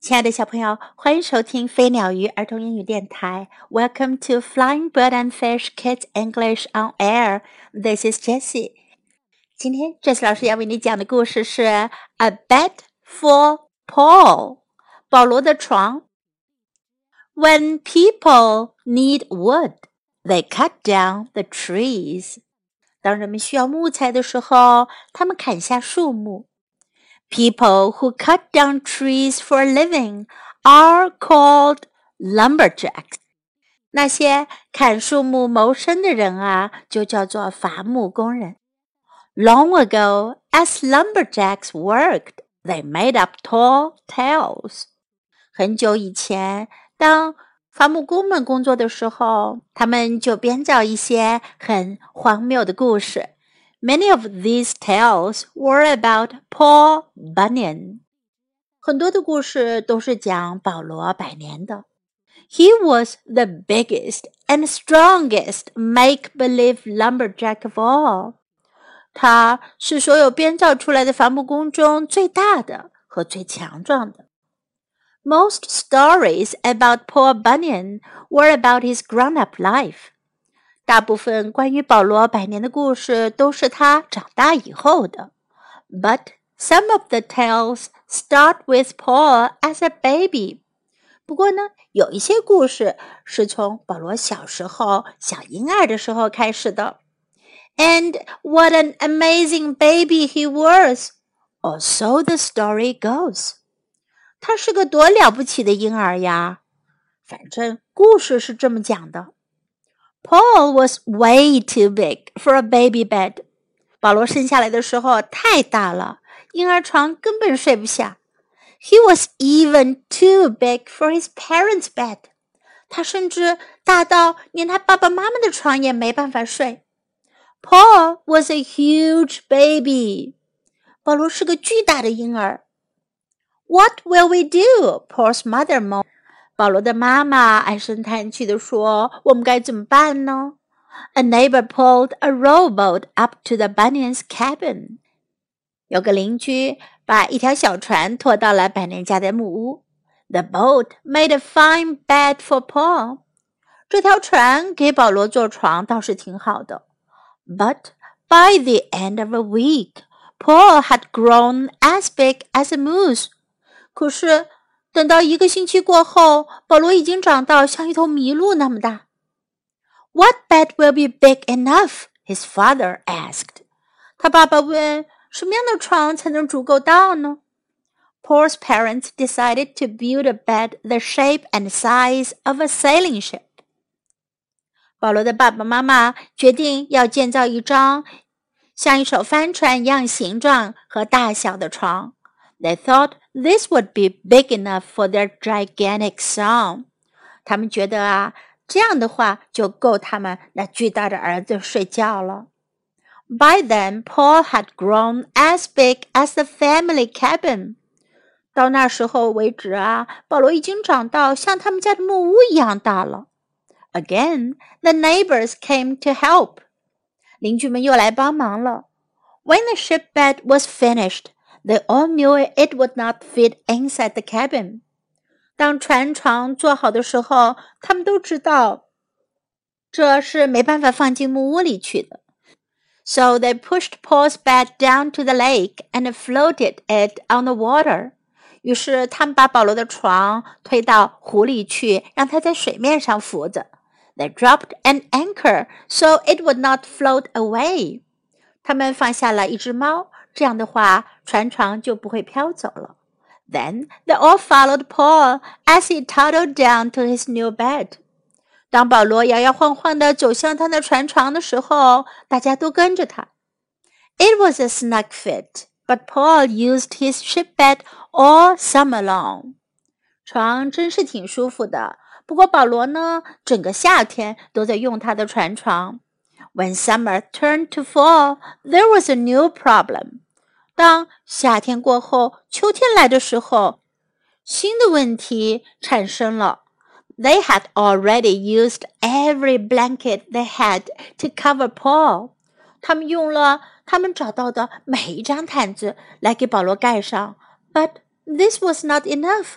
亲爱的小朋友，欢迎收听飞鸟鱼儿童英语电台。Welcome to Flying Bird and Fish Kids English on Air. This is Jessie. 今天 Jessie 老师要为你讲的故事是 A Bed for Paul. 保罗的床。When people need wood, they cut down the trees. 当人们需要木材的时候，他们砍下树木。People who cut down trees for a living are called lumberjacks. 那些砍树木谋生的人啊，就叫做伐木工人。Long ago, as lumberjacks worked, they made up tall tales. 很久以前，当伐木工们工作的时候，他们就编造一些很荒谬的故事。Many of these tales were about Paul Bunyan. 很多的故事都是讲保罗百年的。He was the biggest and strongest make-believe lumberjack of all. 他是所有编造出来的伐木工中最大的和最强壮的。Most stories about Paul Bunyan were about his grown-up life.大部分关于保罗百年的故事都是他长大以后的。But some of the tales start with Paul as a baby. 不过呢，有一些故事是从保罗小时候、小婴儿的时候开始的。And what an amazing baby he was! Or so the story goes. 他是个多了不起的婴儿呀！反正故事是这么讲的。Paul was way too big for a baby bed. 保罗生下来的时候太大了，婴儿床根本睡不下。He was even too big for his parents' bed. 他甚至大到连他爸爸妈妈的床也没办法睡。Paul was a huge baby. 保罗是个巨大的婴儿。What will we do? Paul's mother moaned.保罗的妈妈唉声叹气地说：“我们该怎么办呢？” A neighbor pulled a rowboat up to the Bunyans' cabin. 有个邻居把一条小船拖到了百年家的木屋。The boat made a fine bed for Paul. 这条船给保罗做床倒是挺好的。But by the end of a week, Paul had grown as big as a moose. 可是等到1个星期过后，保罗已经长到像一头麋鹿那么大。What bed will be big enough? His father asked. 他爸爸问，什么样的床才能足够大呢？ Paul's parents decided to build a bed the shape and size of a sailing ship. 保罗的爸爸妈妈决定要建造一张像一艘帆船一样形状和大小的床。They thought this would be big enough for their gigantic son. 他们觉得啊，这样的话就够他们那巨大的儿子睡觉了。By then, Paul had grown as big as the family cabin. 到那时候为止啊，保罗已经长到像他们家的木屋一样大了。Again, the neighbors came to help. 邻居们又来帮忙了。When the ship bed was finished,They all knew it would not fit inside the cabin. 当船床做好的时候，他们都知道这是没办法放进木屋里去的。So they pushed Paul's bed down to the lake and floated it on the water. 于是他们把保罗的床推到湖里去，让它在水面上浮着。They dropped an anchor so it would not float away. 他们放下了一只猫。这样的话，船床就不会飘走了。Then they all followed Paul as he toddled down to his new bed. 当保罗摇摇晃晃地走向他的船床的时候，大家都跟着他。It was a snug fit, but Paul used his ship bed all summer long. 床真是挺舒服的，不过保罗呢，整个夏天都在用他的船床。When summer turned to fall, there was a new problem. 当夏天过后，秋天来的时候，新的问题产生了。They had already used every blanket they had to cover Paul. 他们用了他们找到的每一张毯子来给保罗盖上。But this was not enough.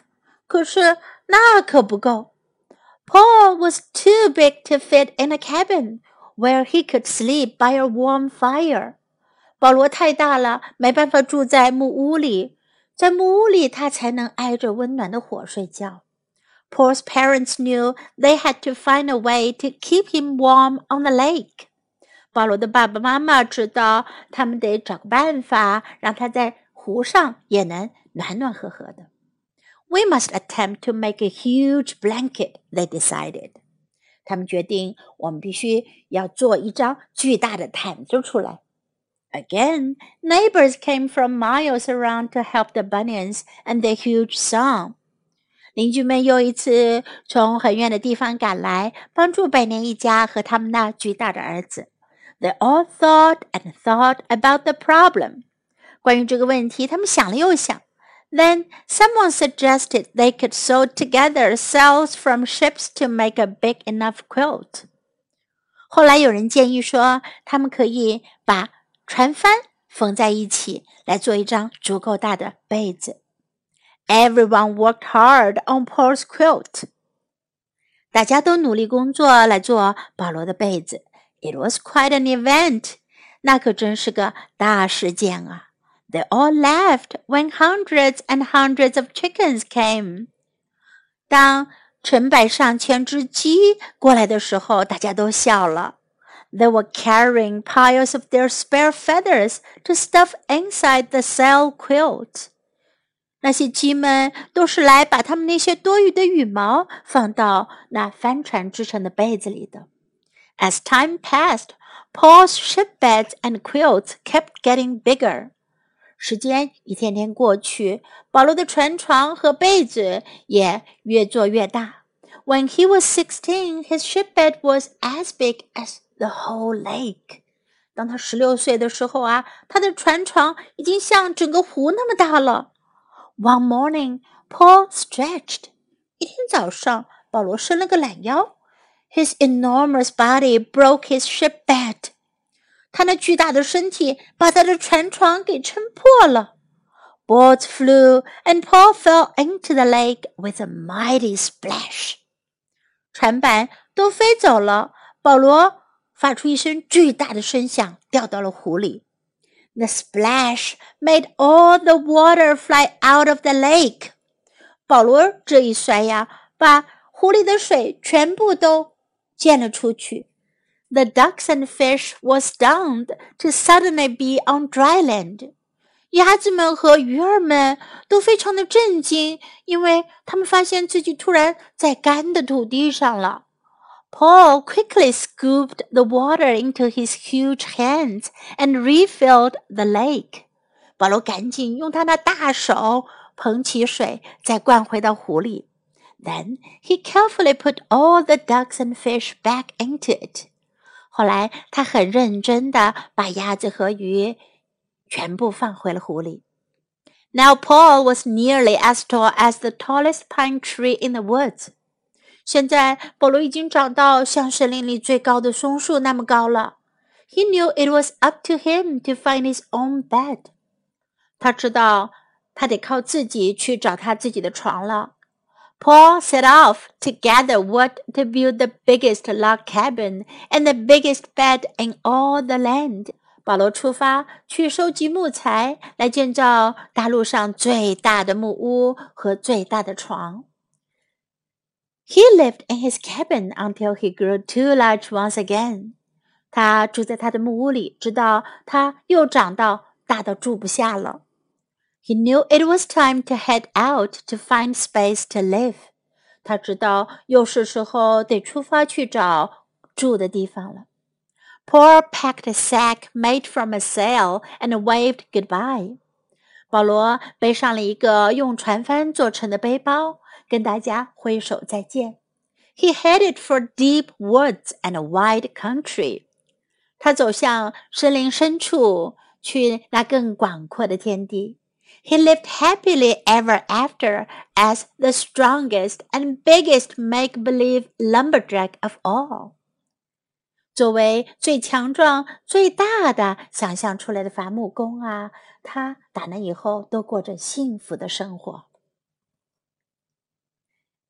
可是那可不够。Paul was too big to fit in a cabin where he could sleep by a warm fire. 保罗太大了，没办法住在木屋里，在木屋里他才能挨着温暖的火睡觉。Paul's parents knew they had to find a way to keep him warm on the lake. 保罗的爸爸妈妈知道他们得找个办法，让他在湖上也能暖暖和和的。We must attempt to make a huge blanket, they decided. 他们决定我们必须要做一张巨大的毯子出来。Again, neighbors came from miles around to help the Bunyans and their huge son. 邻居们又一次从很远的地方赶来，帮助百年一家和他们那巨大的儿子。They all thought and thought about the problem. 关于这个问题，他们想了又想。Then someone suggested they could sew together sails from ships to make a big enough quilt. 后来有人建议说，他们可以把船帆缝在一起，来做一张足够大的被子。Everyone worked hard on Paul's quilt. 大家都努力工作来做保罗的被子。It was quite an event. 那可真是个大事件啊。They all laughed when hundreds and hundreds of chickens came. 当成百上千只鸡过来的时候，大家都笑了。They were carrying piles of their spare feathers to stuff inside the sail quilt. 那些鸡们都是来把它们那些多余的羽毛放到那帆船织成的被子里的。As time passed, Paul's shipbeds and quilts kept getting bigger. 时间一天天过去，保罗的船床和被子也越做越大。When he was 16, his shipbed was as big as the whole lake. 当他16岁的时候啊，他的船床已经像整个湖那么大了。One morning, Paul stretched. 一天早上，保罗伸了个懒腰。His enormous body broke his shipbed. 他那巨大的身体把他的船床给撑破了。Boards flew, and Paul fell into the lake with a mighty splash. 船板都飞走了，保罗发出一声巨大的声响，掉到了湖里。The splash made all the water fly out of the lake. 保罗这一摔呀，把湖里的水全部都溅了出去。The ducks and fish were stunned to suddenly be on dry land. 鸭子们和鱼儿们都非常的震惊，因为他们发现自己突然在干的土地上了。Paul quickly scooped the water into his huge hands and refilled the lake. 保罗赶紧用他那大手捧起水，再灌回到湖里。Then he carefully put all the ducks and fish back into it. 后来他很认真地把鸭子和鱼全部放回了湖里。Now Paul was nearly as tall as the tallest pine tree in the woods. 现在保罗已经长到像森林里最高的松树那么高了。He knew it was up to him to find his own bed. 他知道他得靠自己去找他自己的床了。Paul set off to gather wood to build the biggest log cabin and the biggest bed in all the land. 保罗出发去收集木材，来建造大陆上最大的木屋和最大的床。He lived in his cabin until he grew too large once again. 他住在他的木屋里，直到他又长到大到住不下了。He knew it was time to head out to find space to live. 他知道又是时候得出发去找住的地方了。Paul packed a sack made from a sail and waved goodbye. 保罗背上了一个用船帆做成的背包，跟大家挥手再见。He headed for deep woods and a wide country. 他走向森林深处，去那更广阔的天地。He lived happily ever after as the strongest and biggest make-believe lumberjack of all. 作为最强壮、最大的想象出来的伐木工啊，他打那以后都过着幸福的生活。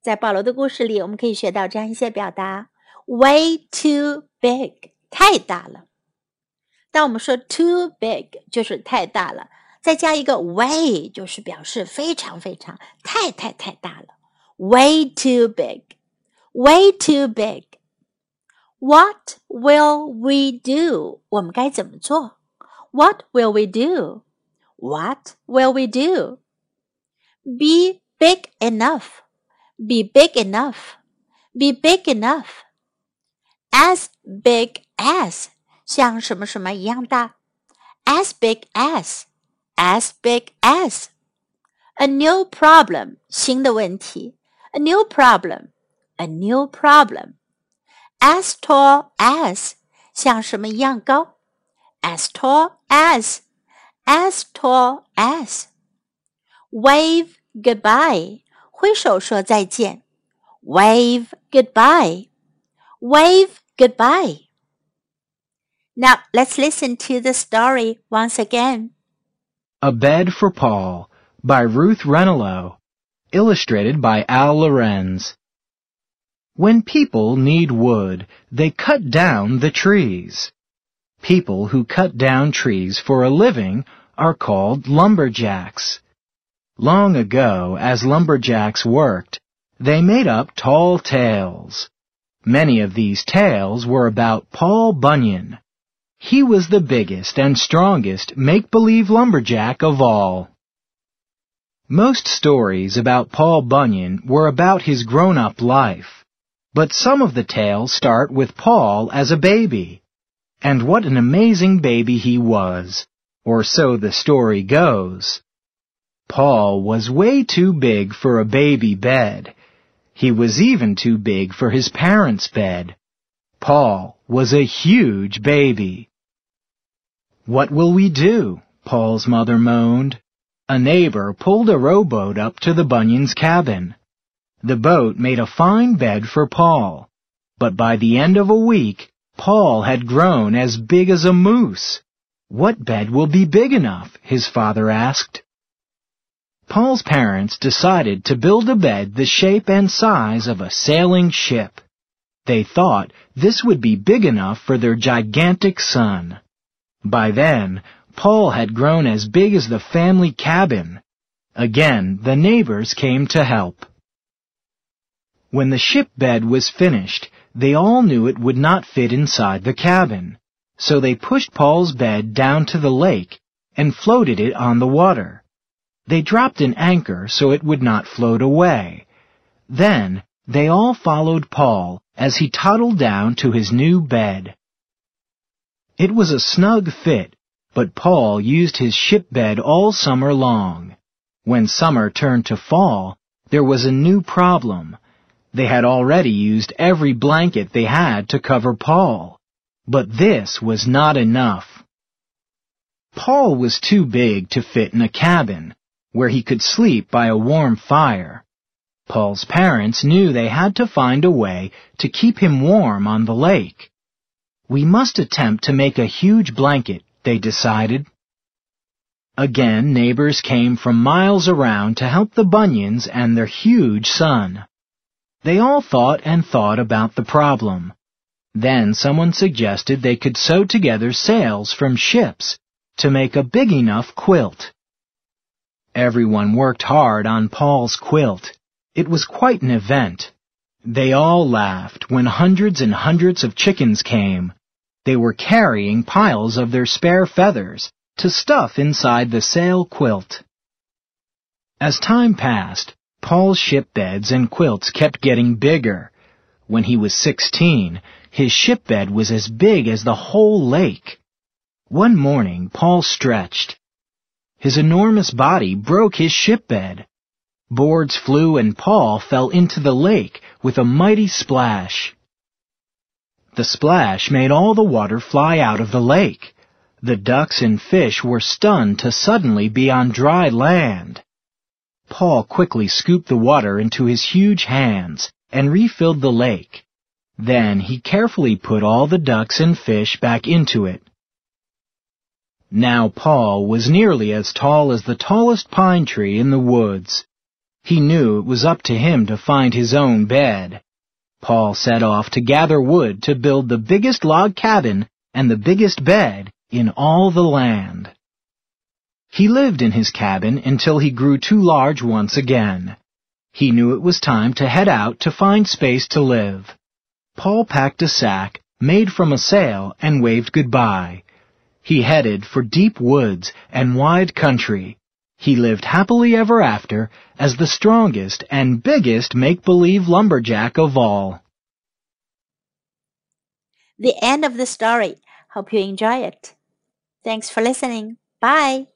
在保罗的故事里，我们可以学到这样一些表达 ：way too big， 太大了。当我们说 too big， 就是太大了，再加一个 way， 就是表示非常非常太大了。way too big， way too big。What will we do？ 我们该怎么做？ What will we do？ What will we do？ Be big enough. Be big enough. Be big enough. As big as 像什么什么一样大。As big as. As big as. A new problem 新的问题。A new problem. A new problem.As tall as 像什么一样高 As tall as As tall as Wave goodbye 挥手说再见 Wave goodbye Wave goodbye Now let's listen to the story once again. A Bed for Paul by Ruth Renelow, illustrated by Al Lorenz.When people need wood, they cut down the trees. People who cut down trees for a living are called lumberjacks. Long ago, as lumberjacks worked, they made up tall tales. Many of these tales were about Paul Bunyan. He was the biggest and strongest make-believe lumberjack of all. Most stories about Paul Bunyan were about his grown-up life.But some of the tales start with Paul as a baby. And what an amazing baby he was, or so the story goes. Paul was way too big for a baby bed. He was even too big for his parents' bed. Paul was a huge baby. What will we do? Paul's mother moaned. A neighbor pulled a rowboat up to the Bunyans' cabin.The boat made a fine bed for Paul, but by the end of a week, Paul had grown as big as a moose. What bed will be big enough? His father asked. Paul's parents decided to build a bed the shape and size of a sailing ship. They thought this would be big enough for their gigantic son. By then, Paul had grown as big as the family cabin. Again, the neighbors came to help.When the ship bed was finished, they all knew it would not fit inside the cabin, so they pushed Paul's bed down to the lake and floated it on the water. They dropped an anchor so it would not float away. Then they all followed Paul as he toddled down to his new bed. It was a snug fit, but Paul used his ship bed all summer long. When summer turned to fall, there was a new problem.They had already used every blanket they had to cover Paul. But this was not enough. Paul was too big to fit in a cabin, where he could sleep by a warm fire. Paul's parents knew they had to find a way to keep him warm on the lake. We must attempt to make a huge blanket, they decided. Again, neighbors came from miles around to help the Bunyans and their huge son.They all thought and thought about the problem. Then someone suggested they could sew together sails from ships to make a big enough quilt. Everyone worked hard on Paul's quilt. It was quite an event. They all laughed when hundreds and hundreds of chickens came. They were carrying piles of their spare feathers to stuff inside the sail quilt. As time passed,Paul's ship beds and quilts kept getting bigger. When he was 16, his ship bed was as big as the whole lake. One morning, Paul stretched. His enormous body broke his ship bed. Boards flew and Paul fell into the lake with a mighty splash. The splash made all the water fly out of the lake. The ducks and fish were stunned to suddenly be on dry land.Paul quickly scooped the water into his huge hands and refilled the lake. Then he carefully put all the ducks and fish back into it. Now Paul was nearly as tall as the tallest pine tree in the woods. He knew it was up to him to find his own bed. Paul set off to gather wood to build the biggest log cabin and the biggest bed in all the land. He lived in his cabin until he grew too large once again. He knew it was time to head out to find space to live. Paul packed a sack made from a sail and waved goodbye. He headed for deep woods and wide country. He lived happily ever after as the strongest and biggest make-believe lumberjack of all. The end of the story. Hope you enjoy it. Thanks for listening. Bye.